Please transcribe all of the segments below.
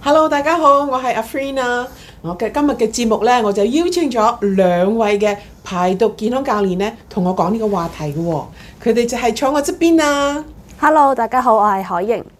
Hello， 大家好，我係阿 Frina。我嘅今日嘅節目呢，我就邀請咗兩位嘅排毒健康教練呢，同我講呢個話題嘅喎。佢哋就係坐我側邊啊。 Hello， 大家好，我係海瑩。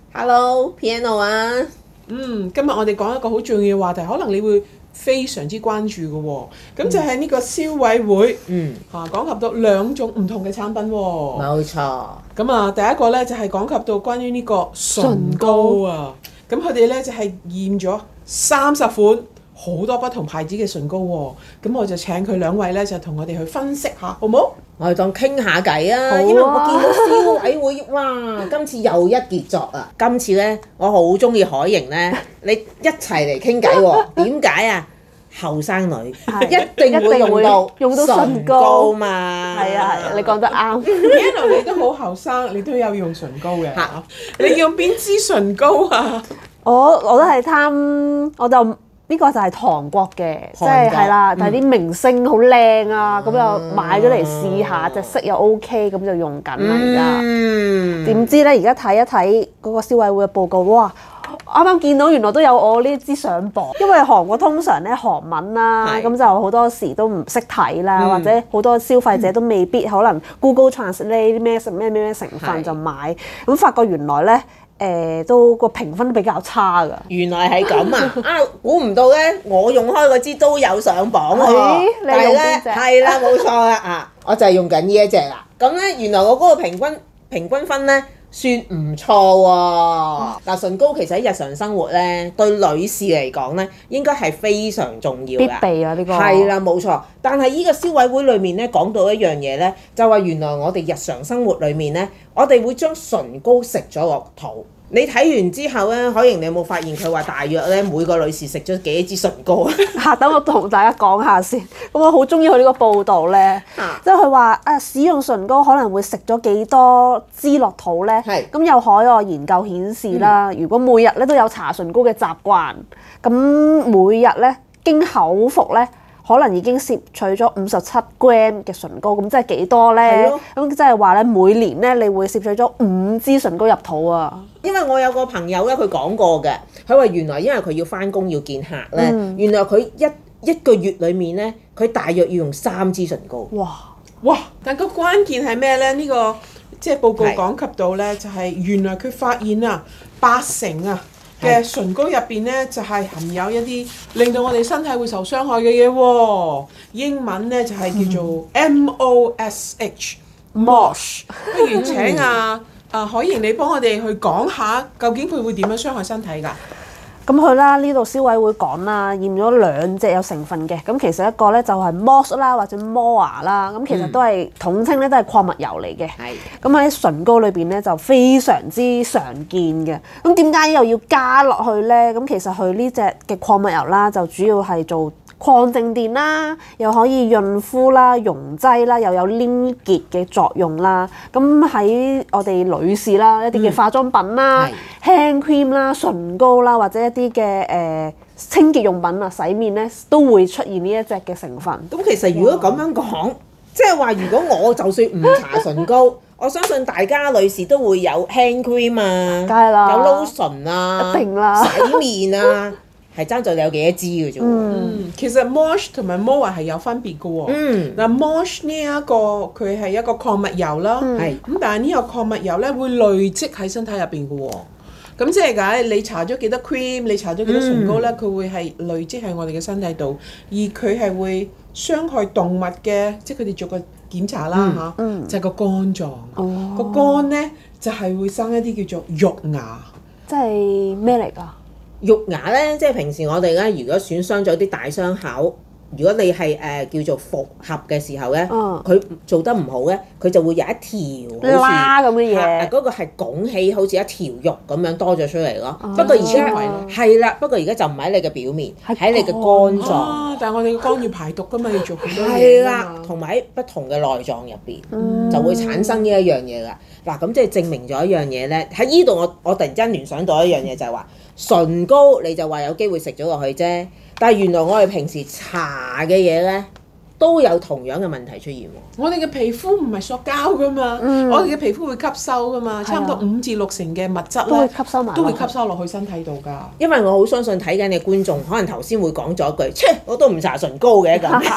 Hello，Piano 啊。 今日我哋講一個好重要嘅話題，可能你會非常之關注嘅喎。咁就係呢個消委會，講及到兩種唔同嘅產品喎。 冇錯。 咁啊，第一個呢，就係講及到關於呢個唇膏啊。咁佢哋咧就係驗咗30款好多不同牌子嘅唇膏喎，咁我就請佢兩位咧就同我哋去分析下，好唔好？ 我哋當傾下偈啊， 好啊， 因為我見到消委會，哇！今次又一傑作啊！今次咧我好中意海瑩咧，你一齊嚟傾偈喎？點解啊？後生女一定會用到唇膏嘛， 係啊，你講得啱。 Piano 你都好後生，你都有用唇膏嘅嚇。你用邊支唇膏啊？ 我都係貪，我就呢個就係韓國嘅，即係啦，但係啲明星好靚啊，咁就買咗嚟試下，隻色又 OK，咁就用緊啦而家。點知咧而家睇一睇嗰個消委會嘅報告，哇！啱啱見到原來都有我呢支上榜，因為韓國通常咧韓文啦，咁就好多時都唔識睇啦，或者好多消費者都未必可能 Google Translate 咩成分就買，咁發覺原來咧都個評分都比較差㗎。 原來係咁啊！估唔到咧，我用開嗰支都有上榜喎。 你用邊隻？ 係啦，冇錯啦啊！我就係用緊呢一隻啦。咁咧，原來我嗰個平均分咧，算唔錯喎！嗱，唇膏其實喺日常生活咧，對女士嚟講咧，應該係非常重要嘅。 必備啊！呢個係啦，冇錯。但係呢個消委會裏面咧講到一樣嘢咧，就話原來我哋日常生活裏面咧，我哋會將唇膏食咗落肚。你睇完之後咧，海瑩你有冇發現佢話大約咧每個女士食咗幾多支唇膏啊？ 等我同大家講下先。咁我好中意佢呢個報道咧，即係佢話使用唇膏可能會食咗幾多支落肚咧。咁有海外研究顯示啦，如果每日咧都有搽唇膏嘅習慣，咁每日咧經口服咧，可能已經攝取咗57 gram 嘅唇膏，咁即係幾多咧？咁即係話咧，每年咧你會攝取咗5支唇膏入肚啊！ 因為我有個朋友咧，佢講過嘅，佢話原來因為佢要返工要見客咧，原來佢一個月裡面咧，佢大約要用3支唇膏。 哇！但個關鍵係咩咧？呢個即係報告講及到咧，就係原來佢發現啊，80%啊嘅唇膏入邊咧，就係含有一啲令到我哋身體會受傷害嘅嘢喎。英文咧就係叫做 MOSH。不如請海瑩你幫我哋去講下，究竟佢會點樣傷害身體㗎？ 咁佢啦，呢度消委會講啦，驗咗2隻有成分嘅，咁其實一個咧就係 MOSH 啦，或者 MOA 啦，咁其實都係統稱咧都係礦物油嚟嘅。咁喺唇膏裏邊咧就非常之常見嘅。咁點解又要加落去咧？咁其實佢呢隻嘅礦物油啦，就主要係做抗靜電啦，又可以潤膚啦、溶劑啦，又有黏結嘅作用啦。咁喺我哋女士啦，一啲嘅化妝品啦、hand cream 啦、唇膏啦，或者一啲嘅清潔用品啊、洗面咧，都會出現呢一隻嘅成分。 咁其實如果咁樣講，即係話如果我就算唔搽唇膏，我相信大家女士都會有 hand cream 啊， 梗係啦， 有 lotion 啊， 一定啦， 洗面啊。係爭在你有幾多支嘅啫。 其實 MOSH 同埋 MOA 係有分別嘅喎。嗱 MOSH 呢一個佢係一個礦物油啦，咁但係呢個礦物油咧會累積喺身體入邊嘅喎。咁即係解你搽咗幾多 cream， 你搽咗幾多唇膏咧，佢會係累積喺我哋嘅身體度，而佢係會傷害動物嘅，即係佢哋做個檢查啦嚇，就係個肝臟。個肝咧就係會生一啲叫做肉芽。 即係咩嚟㗎？ 肉芽咧，即係平時我哋咧，如果損傷咗啲大傷口，如果你係叫做復合嘅時候咧，佢做得唔好咧，佢就會有一條拉咁嘅嘢， 嗰個係拱起，好似一條肉咁樣多咗出嚟咯。不過而家係啦，不過而家就唔喺你嘅表面，喺你嘅肝臟。 但係我哋嘅肝要排毒㗎嘛，要做好多嘢。 係啦，同埋喺不同嘅內臟入邊就會產生呢一樣嘢啦。嗱，咁即係證明咗一樣嘢咧。喺呢度我突然間聯想到一樣嘢，就係話唇膏你就話有機會食咗落去啫。但係原來我哋平時搽嘅嘢咧， 都有同樣嘅問題出現喎。 我哋嘅皮膚唔係塑膠噶嘛，我哋嘅皮膚會吸收噶嘛，差唔多5至6成嘅物質咧都會吸收落去身體度㗎。 因為我好相信睇緊嘅觀眾，可能頭先會講咗一句，切，我都唔搽唇膏嘅咁。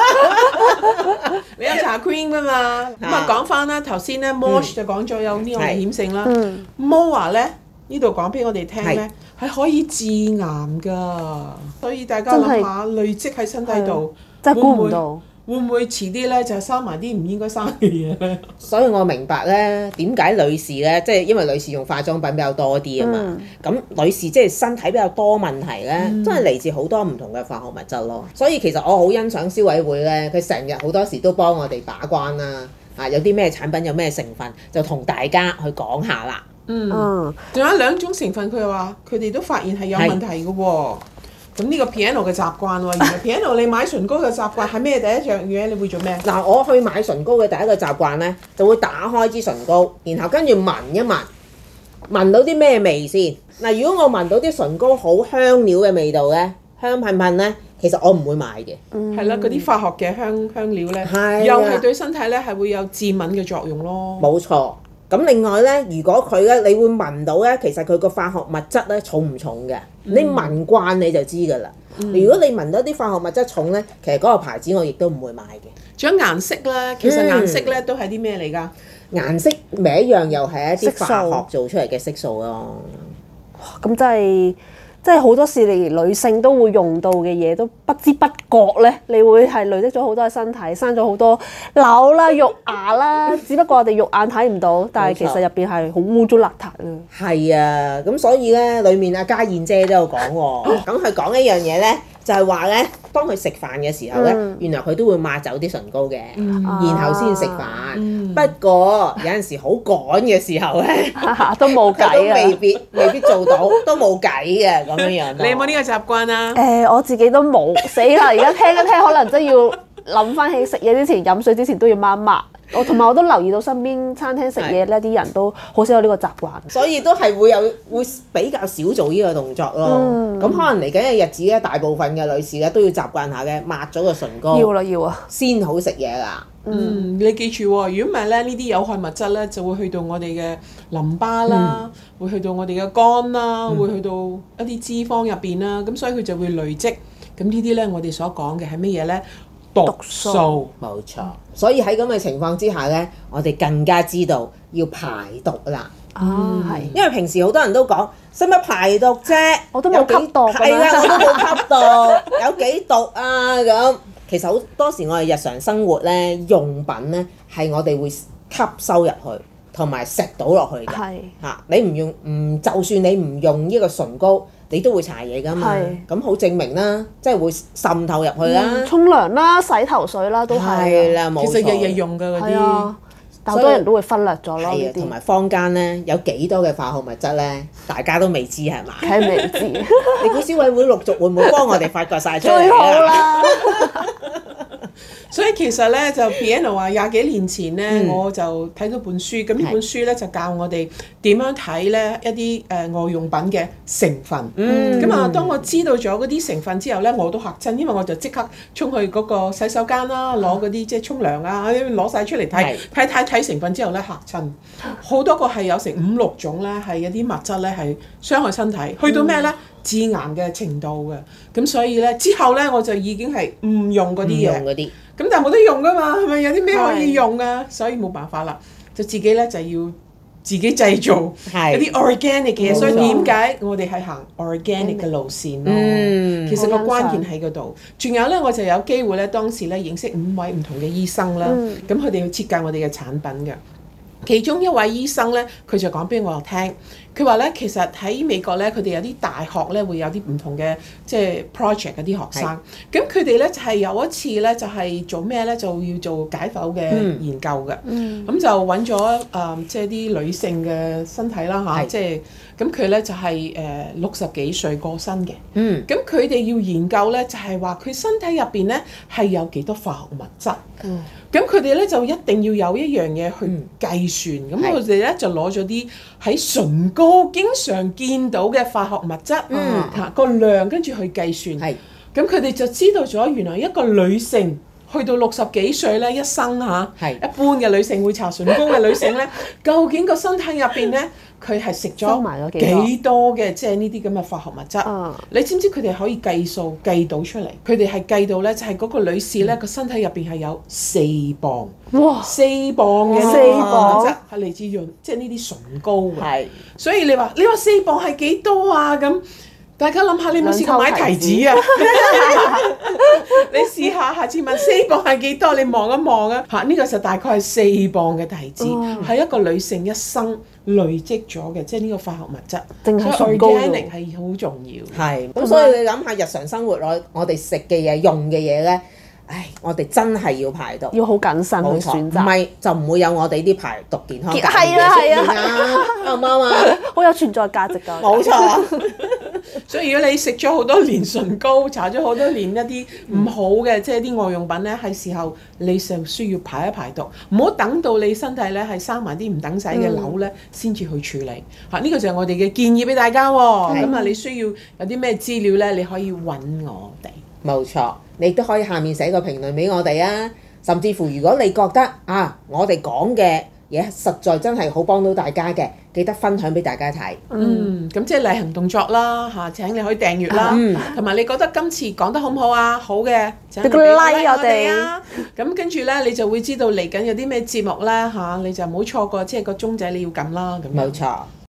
你有搽 cream 㗎嘛？咁啊講翻啦，頭先咧 Mosh 就講咗有呢個危險性啦。MOA 咧呢度講俾我哋聽咧係可以致癌㗎，所以大家諗下累積喺身體度。 真係估唔到， 會唔會遲啲咧就生埋啲唔應該生嘅嘢咧？ 所以我明白咧點解女士咧，即係因為女士用化妝品比較多啲啊嘛。咁女士即係身體比較多問題咧，真係嚟自好多唔同嘅化學物質咯。所以其實我好欣賞消委會咧，佢成日好多時都幫我哋把關啦。有啲咩產品有咩成分，就同大家去講下啦。 仲有2種成分，佢話佢哋都發現係有問題嘅喎。咁呢個 Piano 嘅習慣喎，原來 Piano 你買唇膏嘅習慣係咩？第一樣嘢你會做咩？ 嗱，我去買唇膏嘅第一個習慣咧，就會打開支唇膏，然後跟住聞一聞，聞到啲咩味先。嗱，如果我聞到啲唇膏好香料嘅味道咧，香噴噴咧，其實我唔會買嘅。 係啦，嗰啲化學嘅香料咧，又係對身體咧係會有致敏嘅作用咯。 冇錯。咁另外咧，如果佢咧，你會聞到咧，其實佢個化學物質咧重唔重嘅？你聞慣你就知㗎啦。如果你聞到啲化學物質重咧，其實嗰個牌子我亦都唔會買嘅。 仲有顏色咧，其實顏色咧都係啲咩嚟㗎？ 顏色咪一樣，又係一啲化學做出嚟嘅色素咯。 咁真係好多時連女性都會用到嘅嘢，都不知不覺咧，你會係累積咗好多喺身體，生咗好多瘤啦、肉芽啦。只不過我哋肉眼睇唔到，但係其實入邊係好污糟邋遢啊。 係啊，咁所以咧，裡面阿嘉燕姐都有講喎。咁佢講一樣嘢咧，就係話咧，當佢食飯嘅時候咧，原來佢都會抹走啲唇膏嘅，然後先食飯。不過有陣時好趕嘅時候咧， 都冇計啊， 都未必做到，都冇計嘅咁樣樣。 你有冇呢個習慣啊？ 我自己都冇，死啦！而家聽一聽，可能真要諗翻起食嘢之前、飲水之前都要抹抹。同埋我都留意到身邊餐廳食嘢咧，啲人都好少有呢個習慣， 所以都係會比較少做呢個動作咯。咁可能嚟緊嘅日子咧，大部分嘅女士咧都要習慣下嘅，抹咗個唇膏。要啊，先好食嘢啦。 你記住喎，如果唔係咧，呢啲有害物質咧就會去到我哋嘅淋巴啦，會去到我哋嘅肝啦，會去到一啲脂肪入邊啦，咁所以佢就會累積。咁呢啲咧，我哋所講嘅係乜嘢咧？毒素。 冇錯。所以喺咁嘅情況之下咧，我哋更加知道要排毒啦。 係。 因為平時好多人都講，使乜排毒啫？ 我都冇吸毒。 係啦，我都冇吸毒，有幾毒啊咁。其實好多時我哋日常生活咧，用品咧係我哋會吸收入去，同埋食到落去嘅。係。你唔用就算你唔用呢個唇膏，你都會搽嘢㗎嘛。咁好證明啦，即係會滲透入去啦。 沖涼啦、洗頭水啦，都係。係啦，冇錯。 其實日日用㗎嗰啲。 但好多人都會忽略咗咯。 係啊，同埋坊間咧有幾多嘅化學物質咧，大家都未知係嘛？ 梗係未知。 你估消委會陸續會唔會幫我哋發掘晒出嚟？ 最好啦！ 所以其實咧就 Piano 話20幾年前咧，我就睇到本書，咁呢本書咧就教我哋點樣睇咧一啲外用品嘅成分。咁啊，當我知道咗嗰啲成分之後咧，我都嚇親，因為我就即刻衝去嗰個洗手間啦，攞嗰啲即係沖涼啊，攞晒出嚟睇成分之後咧嚇親，好多個係有成5、6種咧係一啲物質咧係傷害身體，去到咩咧致癌嘅程度嘅。咁所以咧之後咧我就已經係唔用嗰啲嘢。咁但係冇得用㗎嘛，係咪有啲咩可以用啊？所以冇辦法啦，就自己咧就要自己製造一啲 organic 嘅嘢。所以點解我哋係行 organic 嘅路線咯？其實個關鍵喺嗰度。仲有咧，我就有機會咧，當時咧認識5位唔同嘅醫生啦。咁佢哋要設計我哋嘅產品嘅。其中一位醫生咧，佢就講俾我聽，佢話咧其實喺美國咧，佢哋有啲大學咧會有啲唔同嘅即係 project 嗰啲學生，咁佢哋咧就係有一次咧就係做咩咧，就要做解剖嘅研究嘅，咁就揾咗即係啲女性嘅身體啦嚇，即係咁佢咧就係60幾歲過身嘅，咁佢哋要研究咧就係話佢身體入邊咧係有幾多化學物質。咁佢哋咧就一定要有一樣嘢去計算，咁佢哋咧就攞咗啲喺唇膏經常見到嘅化學物質，個量跟住去計算，咁佢哋就知道咗原來一個女性去到60幾歲咧，一生嚇，一般嘅女性會搽唇膏嘅女性咧，究竟個身體入邊咧，佢係食咗幾多嘅即係呢啲咁嘅化學物質？你知唔知佢哋可以計數計到出嚟？佢哋係計到咧，就係嗰個女士咧個身體入邊係有4磅，哇，4磅嘅化學物質係嚟自潤，即係呢啲唇膏嘅。所以你話4磅係幾多啊？咁大家諗下，你有冇試過買提子啊？你試下，下次問4磅係幾多？你望一望啊！嚇，呢個就大概係4磅嘅提子，係一個女性一生累積咗嘅，即係呢個化學物質。所以 organic 係好重要。係，咁所以你諗下日常生活我哋食嘅嘢、用嘅嘢咧，唉，我哋真係要排毒， 要好謹慎去選擇， 唔係就唔會有我哋啲排毒健康嘅係啊， 啱唔啱啊？ 好有存在價值㗎。 冇錯。 所以如果你食咗好多年唇膏，搽咗好多年一啲唔好嘅，即係啲外用品咧，係時候你就需要排一排毒，唔好等到你身體咧係生埋啲唔等使嘅瘤咧，先至去處理。嚇，呢個就係我哋嘅建議俾大家喎。咁啊，你需要有啲咩資料咧，你可以揾我哋。冇錯，你都可以下面寫個評論俾我哋啊。甚至乎如果你覺得啊，我哋講嘅嘢實在真係好幫到大家嘅，記得分享俾大家睇。咁即係例行動作啦嚇，請你可以訂閱啦，同埋你覺得今次講得好唔好啊？好嘅，請俾個 like 我哋啊。咁跟住咧，你就會知道嚟緊有啲咩節目咧嚇，你就唔好錯過，即係個鐘仔你要撳啦。咁冇錯。